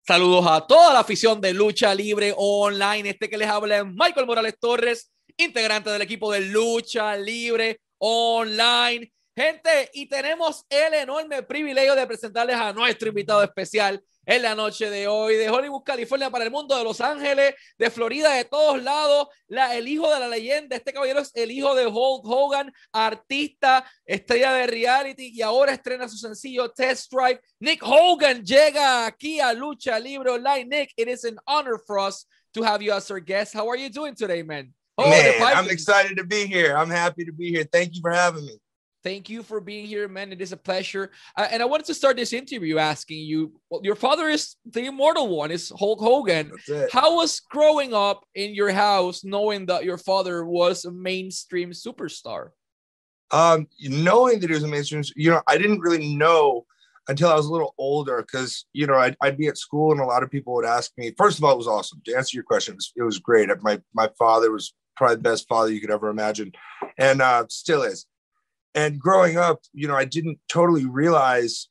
Saludos a toda la afición de Lucha Libre Online. Este que les habla es Michael Morales Torres, integrante del equipo de Lucha Libre Online. Gente, y tenemos el enorme privilegio de presentarles a nuestro invitado especial en la noche de hoy, de Hollywood, California, para el mundo, de Los Ángeles, de Florida, de todos lados, el hijo de la leyenda. Este caballero es el hijo de Hulk Hogan, artista, estrella de reality, y ahora estrena su sencillo Test Drive. Nick Hogan llega aquí a Lucha Libre Online. Nick, it is an honor for us to have you as our guest. How are you doing today, man? Man, I'm excited to be here. I'm happy to be here. Thank you for having me. Thank you for being here, man. It is a pleasure. And I wanted to start this interview asking you, well, your father is the immortal one, is Hulk Hogan. How was growing up in your house knowing that your father was a mainstream superstar? Knowing that he was a mainstream, I didn't really know until I was a little older because, I'd be at school and a lot of people would ask me. First of all, it was awesome. To answer your question, it was great. My father was probably the best father you could ever imagine, and still is. And growing up, I didn't totally realize,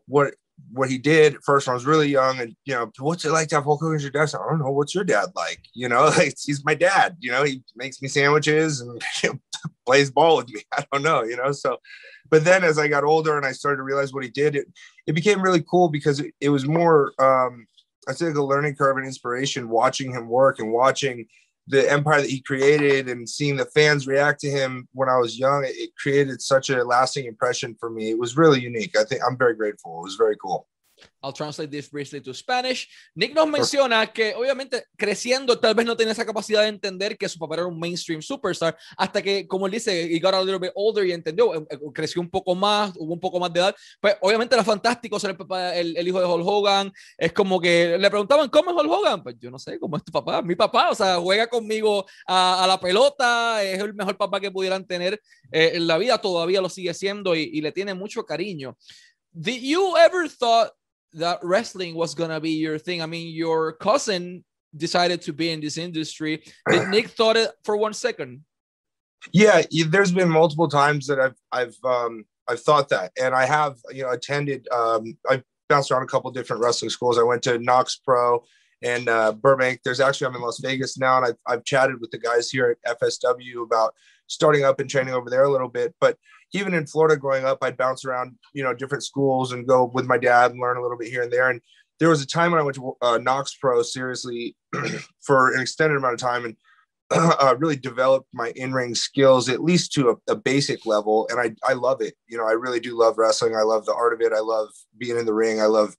what he did at first when I was really young. And, what's it like to have Hulk Hogan as your dad? I don't know. What's your dad like? He's my dad. He makes me sandwiches and plays ball with me. I don't know, So, but then as I got older and I started to realize what he did, it became really cool because it was more, I'd say like a learning curve and inspiration watching him work and watching the empire that he created and seeing the fans react to him when I was young. It created such a lasting impression for me. It was really unique. I think I'm very grateful. It was very cool. I'll translate this briefly to Spanish. Nick nos menciona que obviamente creciendo tal vez no tenía esa capacidad de entender que su papá era un mainstream superstar hasta que, como él dice, he got a little bit older y entendió, creció un poco más, hubo un poco más de edad. Pues obviamente era fantástico ser el hijo de Hulk Hogan. Es como que le preguntaban, ¿cómo es Hulk Hogan? Pues yo no sé, ¿cómo es tu papá? Mi papá, o sea, juega conmigo a la pelota, es el mejor papá que pudieran tener en la vida, todavía lo sigue siendo y le tiene mucho cariño. Did you ever thought that wrestling was gonna be your thing? I mean, your cousin decided to be in this industry. Did Nick thought it for 1 second? Yeah, there's been multiple times that I've thought that, and I have attended. I've bounced around a couple different wrestling schools. I went to Knox Pro and Burbank. I'm in Las Vegas now, and I've chatted with the guys here at FSW about starting up and training over there a little bit. But even in Florida growing up, I'd bounce around, different schools and go with my dad and learn a little bit here and there. And there was a time when I went to Knox Pro seriously for an extended amount of time and really developed my in-ring skills, at least to a basic level. And I love it. I really do love wrestling. I love the art of it. I love being in the ring. I love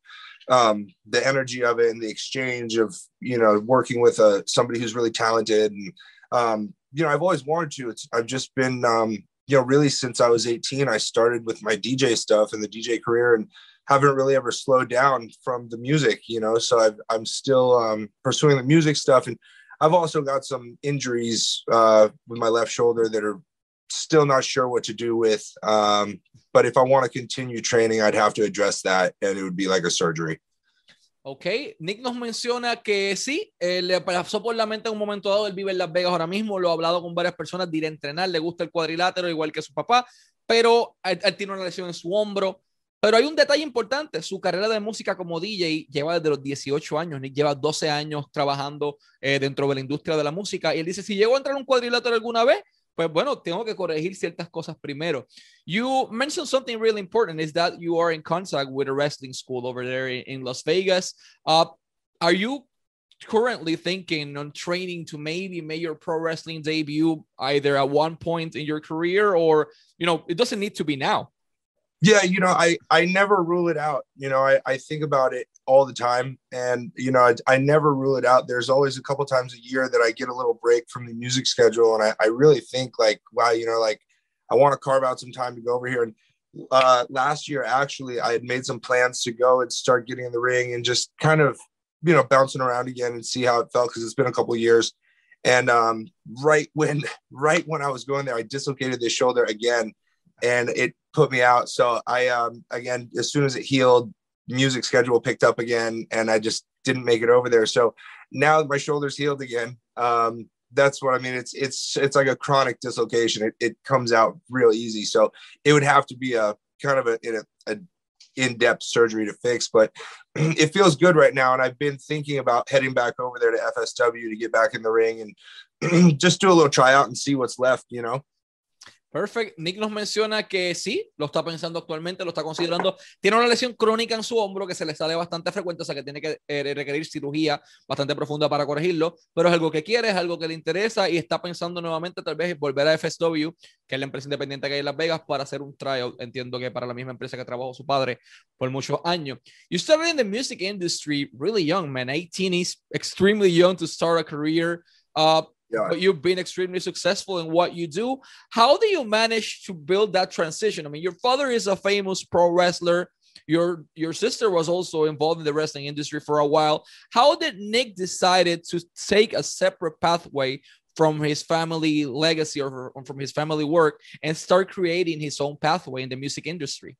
the energy of it and the exchange of, working with somebody who's really talented. And, I've always wanted to. I've just been, really since I was 18, I started with my DJ stuff and the DJ career and haven't really ever slowed down from the music, so I'm still pursuing the music stuff. And I've also got some injuries with my left shoulder that are still not sure what to do with. But if I want to continue training, I'd have to address that, and it would be like a surgery. Ok, Nick nos menciona que sí, le pasó por la mente en un momento dado. Él vive en Las Vegas ahora mismo, lo ha hablado con varias personas de ir a entrenar, le gusta el cuadrilátero igual que su papá, pero él tiene una lesión en su hombro. Pero hay un detalle importante: su carrera de música como DJ lleva desde los 18 años. Nick lleva 12 años trabajando dentro de la industria de la música, y él dice, si llego a entrar en un cuadrilátero alguna vez, pues bueno, tengo que corregir ciertas cosas primero. You mentioned something really important, is that you are in contact with a wrestling school over there in Las Vegas. Are you currently thinking on training to maybe make your pro wrestling debut either at one point in your career, or, it doesn't need to be now? Yeah, I never rule it out. I think about it all the time, and I never rule it out. There's always a couple times a year that I get a little break from the music schedule, and I really think like, wow, I want to carve out some time to go over here. And last year, actually, I had made some plans to go and start getting in the ring and just kind of bouncing around again and see how it felt, because it's been a couple of years. And right when I was going there, I dislocated the shoulder again, and it put me out. So I, again, as soon as it healed, music schedule picked up again, and I just didn't make it over there. So now my shoulder's healed again. That's what I mean. It's like a chronic dislocation. It comes out real easy. So it would have to be a kind of in-depth surgery to fix, but it feels good right now. And I've been thinking about heading back over there to FSW to get back in the ring and just do a little tryout and see what's left, you know? Perfect. Nick nos menciona que sí, lo está pensando actualmente, lo está considerando. Tiene una lesión crónica en su hombro que se le sale bastante frecuente, o sea que tiene que requerir cirugía bastante profunda para corregirlo, pero es algo que quiere, es algo que le interesa y está pensando nuevamente tal vez volver a FSW, que es la empresa independiente que hay en Las Vegas, para hacer un tryout. Entiendo que para la misma empresa que trabajó su padre por muchos años. You started in the music industry really young, man. 18 is extremely young to start a career. Yeah. But you've been extremely successful in what you do. How do you manage to build that transition? I mean, your father is a famous pro wrestler. Your sister was also involved in the wrestling industry for a while. How did Nick decided to take a separate pathway from his family legacy or from his family work and start creating his own pathway in the music industry?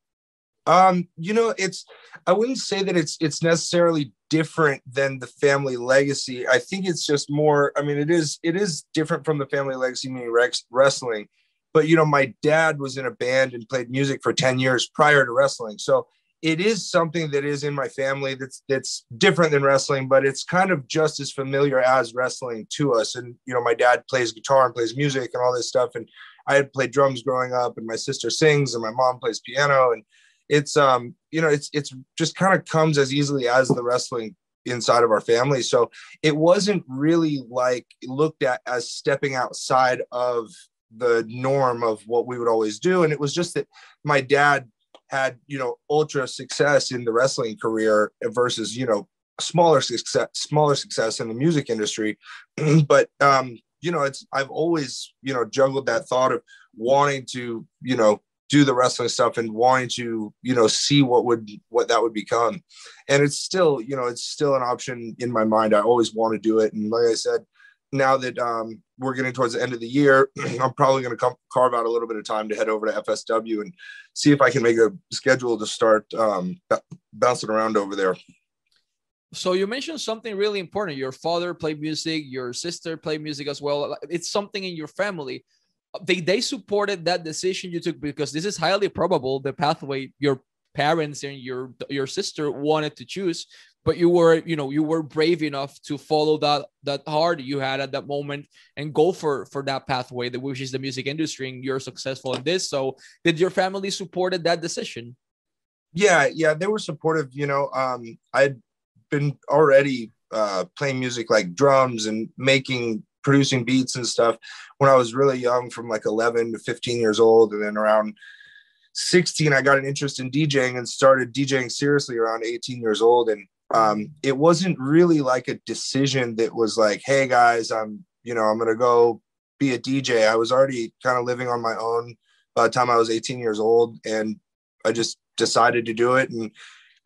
You know, I wouldn't say that it's necessarily different than the family legacy. I think it's just more, I mean, it is different from the family legacy, meaning wrestling, but you know, my dad was in a band and played music for 10 years prior to wrestling. So it is something that is in my family that's different than wrestling, but it's kind of just as familiar as wrestling to us. And, you know, my dad plays guitar and plays music and all this stuff. And I had played drums growing up, and my sister sings and my mom plays piano, and it's you know, it's just kind of comes as easily as the wrestling inside of our family. So it wasn't really like looked at as stepping outside of the norm of what we would always do. And it was just that my dad had, you know, ultra success in the wrestling career versus, you know, smaller success in the music industry. But you know, I've always, you know, juggled that thought of wanting to, you know, do the wrestling stuff and wanting to, you know, see what that would become. And it's still, you know, it's still an option in my mind. I always want to do it. And like I said, now that we're getting towards the end of the year, I'm probably going to carve out a little bit of time to head over to FSW and see if I can make a schedule to start bouncing around over there. So you mentioned something really important. Your father played music, your sister played music as well. It's something in your family. They supported that decision you took, because this is highly probable the pathway your parents and your sister wanted to choose, but you were brave enough to follow that heart you had at that moment and go for that pathway, which is the music industry, and you're successful in this. So did your family supported that decision? Yeah, they were supportive. You know, I'd been already playing music like drums and producing beats and stuff when I was really young, from like 11 to 15 years old. And then around 16, I got an interest in DJing and started DJing seriously around 18 years old. And it wasn't really like a decision that was like, hey guys, I'm going to go be a DJ. I was already kind of living on my own by the time I was 18 years old. And I just decided to do it. And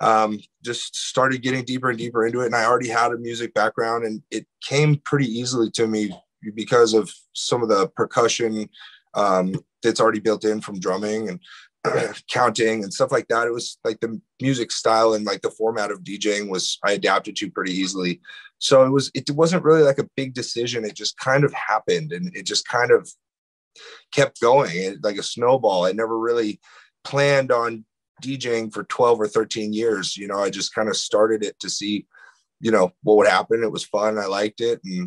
just started getting deeper and deeper into it. And I already had a music background, and it came pretty easily to me because of some of the percussion that's already built in from drumming and counting and stuff like that. It was like the music style and like the format of DJing I adapted to pretty easily. So it wasn't really like a big decision. It just kind of happened, and it just kind of kept going like a snowball. I never really planned on DJing for 12 or 13 years. You know, I just kind of started it to see, you know, what would happen. It was fun. I liked it. And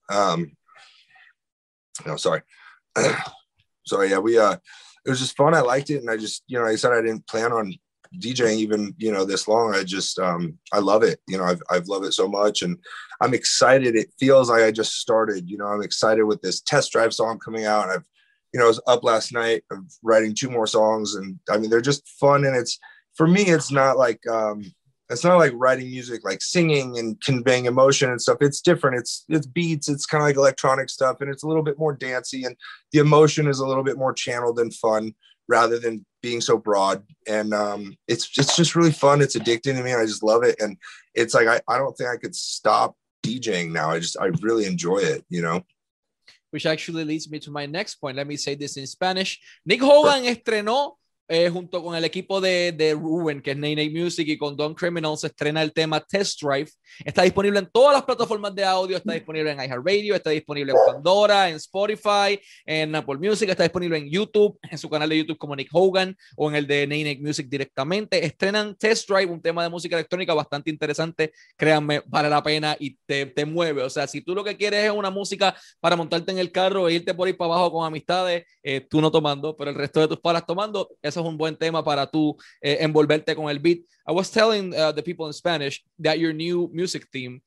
sorry. Yeah, it was just fun. I liked it. And I just, you know, like I said, I didn't plan on DJing even, you know, this long. I just, I love it. You know, I've loved it so much, and I'm excited. It feels like I just started, you know, I'm excited with this Test Drive song coming out. I was up last night writing 2 more songs, and I mean, they're just fun. And for me, it's not like writing music, like singing and conveying emotion and stuff. It's different. It's beats. It's kind of like electronic stuff, and it's a little bit more dancey, and the emotion is a little bit more channeled and fun rather than being so broad. And it's just really fun. It's addicting to me. I just love it. And it's like, I don't think I could stop DJing now. I really enjoy it, you know? Which actually leads me to my next point. Let me say this in Spanish. Nick Hogan estrenó junto con el equipo de Ruben, que es Nay Nay Music, y con Don Criminal, se estrena el tema Test Drive. Está disponible en todas las plataformas de audio, está disponible en iHeartRadio, está disponible en Pandora, en Spotify, en Apple Music, está disponible en YouTube, en su canal de YouTube como Nick Hogan, o en el de Nay Nay Music directamente. Estrenan Test Drive, un tema de música electrónica bastante interesante, créanme, vale la pena y te mueve. O sea, si tú lo que quieres es una música para montarte en el carro e irte por ahí para abajo con amistades, tú no tomando, pero el resto de tus palas tomando, eso es un buen tema para tú envolverte con el beat. I was telling the people in Spanish that your new music theme,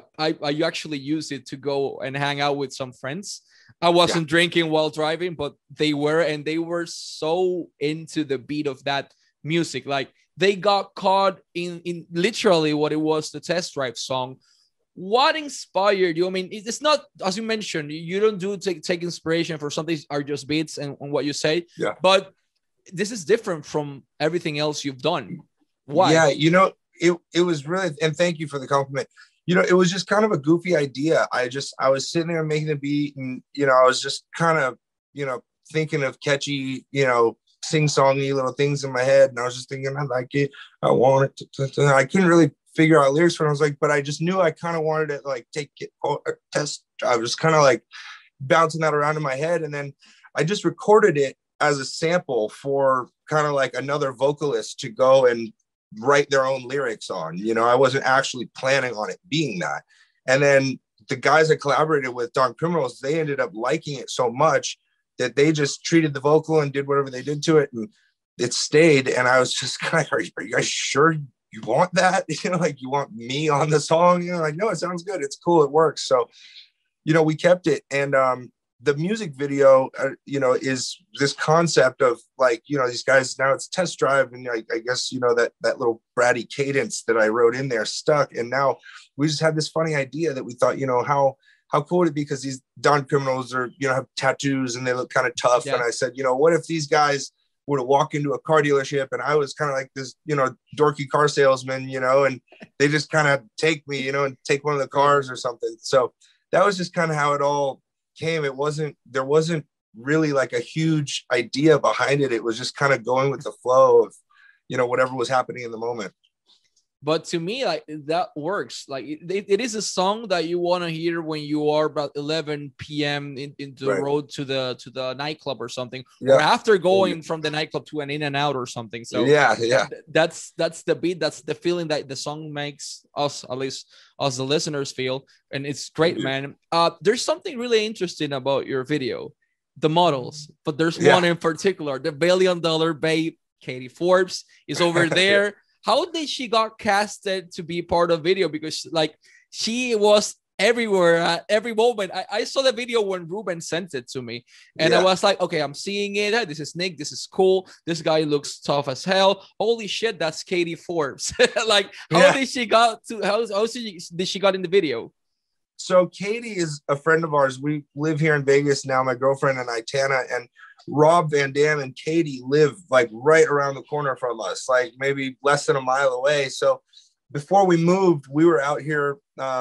I actually used it to go and hang out with some friends. I wasn't drinking while driving, but they were, and they were so into the beat of that music. Like, they got caught in literally what it was, the Test Drive song. What inspired you? I mean, it's not, as you mentioned, you don't do take inspiration for something are just beats and what you say. Yeah. But this is different from everything else you've done. Why? Yeah, you know, it was really, and thank you for the compliment. You know, it was just kind of a goofy idea. I was sitting there making the beat, and you know, I was just kind of, you know, thinking of catchy, you know, sing-songy little things in my head, and I was just thinking, I like it, I want it. I couldn't really figure out lyrics for it. I was like, but I just knew I kind of wanted to like take it test. I was kind of like bouncing that around in my head, and then I just recorded it as a sample for kind of like another vocalist to go and write their own lyrics on. You know, I wasn't actually planning on it being that. And then the guys I collaborated with, Don Criminals, they ended up liking it so much that they just treated the vocal and did whatever they did to it, and it stayed. And I was just kind of, are you guys sure you want that? You know, like, you want me on the song? You know, like, no, it sounds good, it's cool, it works. So, you know, we kept it. And the music video, you know, is this concept of like, you know, these guys, now it's Test Drive, and I guess, you know, that little bratty cadence that I wrote in there stuck. And now we just had this funny idea that we thought, you know, how cool would it be, because these Don Criminals are, you know, have tattoos and they look kind of tough. Yeah. And I said, you know, what if these guys were to walk into a car dealership and I was kind of like this, you know, dorky car salesman, you know, and they just kind of take me, you know, and take one of the cars or something. So that was just kind of how it all came. There wasn't really like a huge idea behind it. It was just kind of going with the flow of, you know, whatever was happening in the moment. But to me, like, that works. Like, it is a song that you want to hear when you are about 11 p.m. into the road to the nightclub or something, or after going from the nightclub to an In-N-Out or something. So that's the beat, that's the feeling that the song makes us, at least us the listeners, feel, and it's great, man. There's something really interesting about your video, the models, but there's one in particular, the $1 billion babe, Katie Forbes, is over there. How did she got casted to be part of video? Because like, she was everywhere at every moment. I saw the video when Ruben sent it to me, and I was like, okay, I'm seeing it. This is Nick. This is cool. This guy looks tough as hell. Holy shit, that's Katie Forbes. Like, how did she got to? How did she got in the video? So Katie is a friend of ours. We live here in Vegas now, my girlfriend and I, Tana, and Rob Van Dam and Katie live like right around the corner from us, like maybe less than a mile away. So before we moved, we were out here.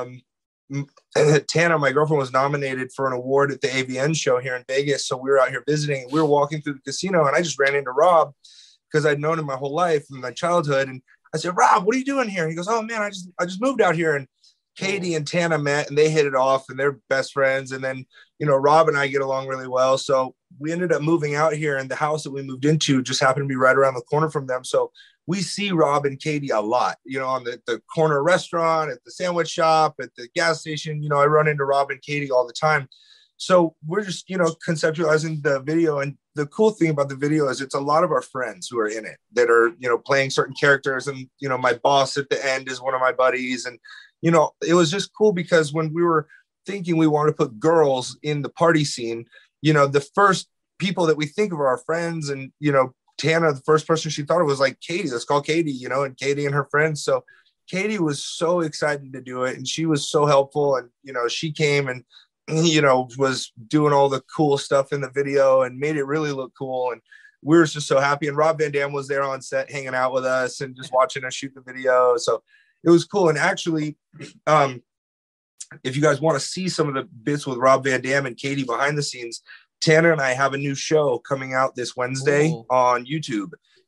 Tana, my girlfriend, was nominated for an award at the AVN show here in Vegas. So we were out here visiting. We were walking through the casino, and I just ran into Rob because I'd known him my whole life from my childhood. And I said, Rob, what are you doing here? He goes, oh man, I just moved out here. And Katie and Tana met, and they hit it off, and they're best friends. And then, you know, Rob and I get along really well. So we ended up moving out here, and the house that we moved into just happened to be right around the corner from them. So we see Rob and Katie a lot, you know, on the corner restaurant, at the sandwich shop, at the gas station. You know, I run into Rob and Katie all the time. So we're just, you know, conceptualizing the video. And the cool thing about the video is it's a lot of our friends who are in it that are, you know, playing certain characters. And, you know, my boss at the end is one of my buddies. And, you know, it was just cool because when we were thinking we wanted to put girls in the party scene, you know, the first people that we think of are our friends. And, you know, Tana, the first person she thought of was like, Katie, let's call Katie, you know, and Katie and her friends. So Katie was so excited to do it, and she was so helpful. And, you know, she came and, you know, was doing all the cool stuff in the video and made it really look cool. And we were just so happy. And Rob Van Dam was there on set hanging out with us and just watching us shoot the video. So it was cool. And actually, if you guys want to see some of the bits with Rob Van Dam and Katie behind the scenes, Tanner and I have a new show coming out this Wednesday on YouTube.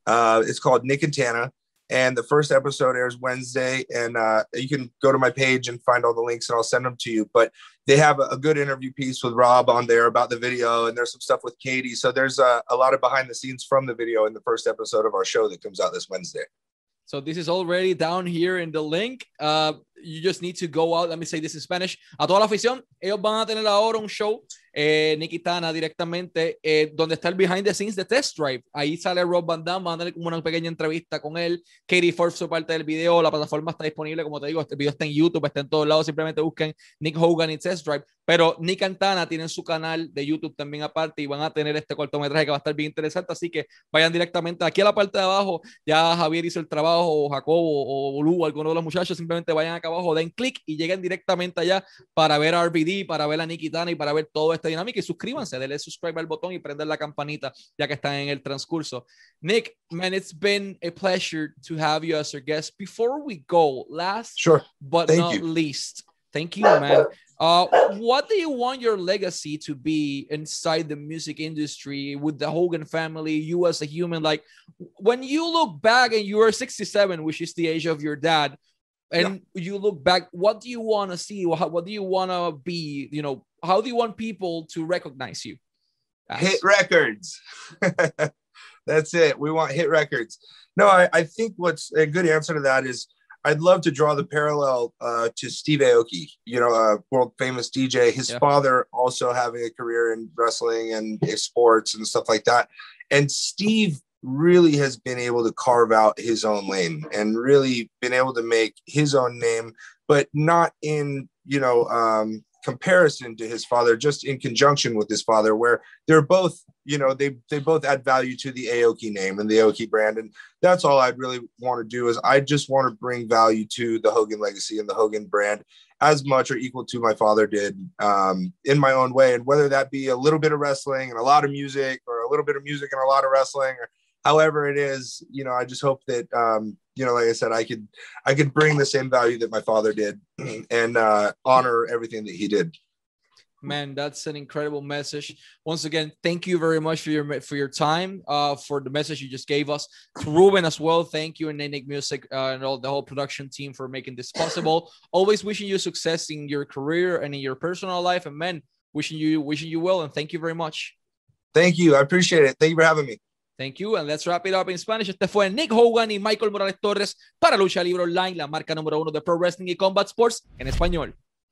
It's called Nick and Tana. And the first episode airs Wednesday. And you can go to my page and find all the links and I'll send them to you. But they have a good interview piece with Rob on there about the video. And there's some stuff with Katie. So there's a lot of behind the scenes from the video in the first episode of our show that comes out this Wednesday. So this is already down here in the link. You just need to go out. Let me say this in Spanish. A toda la afición, ellos van a tener ahora un show, Nick y Tana directamente, donde está el behind the scenes de Test Drive. Ahí sale Rob Van Dam, van a tener como una pequeña entrevista con él. Katie Forbes fue parte del video. La plataforma está disponible, como te digo, este video está en YouTube, está en todos lados. Simplemente busquen Nick Hogan y Test Drive. Pero Nick y Tana tienen su canal de YouTube también aparte y van a tener este cortometraje que va a estar bien interesante. Así que vayan directamente aquí a la parte de abajo. Ya Javier hizo el trabajo, o Jacobo, o Lu, alguno de los muchachos. Simplemente vayan acá abajo, den clic y lleguen directamente allá para ver a RVD, para ver a Nick y Tana y para ver toda esta dinámica. Y suscríbanse, denle subscribe al botón y prender la campanita ya que están en el transcurso. Nick, man, it's been a pleasure to have you as our guest. Before we go, last but not least, thank you, man. What do you want your legacy to be inside the music industry with the Hogan family, you as a human? Like, when you look back and you are 67, which is the age of your dad, and you look back, what do you want to see? What do you want to be? You know, how do you want people to recognize you? Hit records. That's it. We want hit records. No, I think what's a good answer to that is I'd love to draw the parallel to Steve Aoki, you know, a world famous DJ. His father also having a career in wrestling and sports and stuff like that. And Steve really has been able to carve out his own lane and really been able to make his own name, but not in, you know, comparison to his father, just in conjunction with his father, where they're both, you know, they both add value to the Aoki name and the Aoki brand. And that's all I'd really want to do is I just want to bring value to the Hogan legacy and the Hogan brand as much or equal to my father did, in my own way. And whether that be a little bit of wrestling and a lot of music, or a little bit of music and a lot of wrestling, or however it is, you know, I just hope that, you know, like I said, I could bring the same value that my father did and honor everything that he did. Man, that's an incredible message. Once again, thank you very much for your time, for the message you just gave us. To Ruben as well, thank you, and Nick Music and all the whole production team for making this possible. Always wishing you success in your career and in your personal life, and man, wishing you well, and thank you very much. Thank you. I appreciate it. Thank you for having me. Thank you, and let's wrap it up in Spanish. Este fue Nick Hogan y Michael Morales Torres para Lucha Libre Online, la marca número 1 de Pro Wrestling y Combat Sports en español.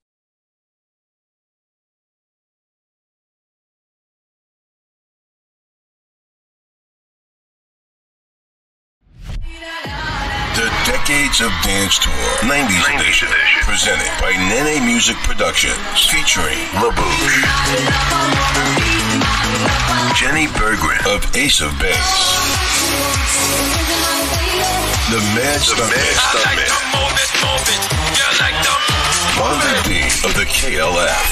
The Decades of Dance Tour 90s edition, presented by Nene Music Productions, featuring LaBouche, Jenny Berggren of Ace of Base, the Mad Stuntman, Marvin B of the KLF,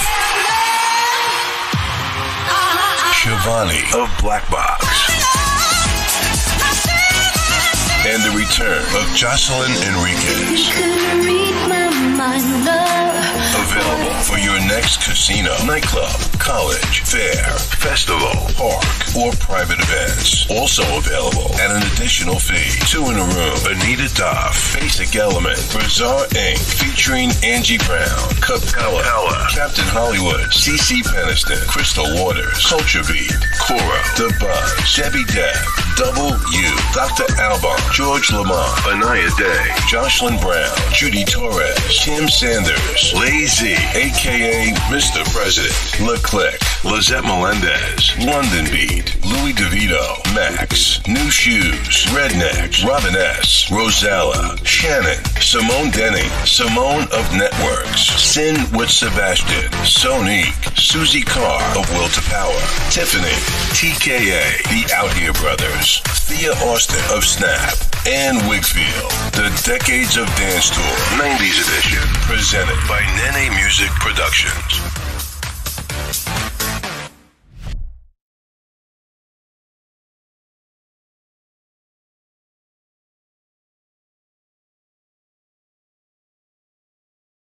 Shivani of Black Box, and the return of Jocelyn Enriquez. Available for your next casino, nightclub, college, fair, festival, park, or private events. Also available at an additional fee. 2 in a room, Anita Duff, Basic Element, Bazaar Inc., featuring Angie Brown, Capella, Captain Hollywood, CeCe Peniston, Crystal Waters, Culture Beat, Cora, The Buzz, Debbie Deb, Double U, Dr. Alban, George Lamont, Anaya Day, Jocelyn Brown, Judy Torres, Tim Sanders, Lazy, a.k.a. Mr. President, Leclerc, Lizette Melendez, London Beat, Louis DeVito, Max, New Shoes, Redneck, Robin S., Rosella, Shannon, Simone Denning, Simone of Networks, Sin with Sebastian, Sonique, Susie Carr of Will to Power, Tiffany, TKA, The Out Here Brothers, Thea Austin of Snap, and Wigfield. The Decades of Dance Tour 90s edition, presented by Nene Music Productions.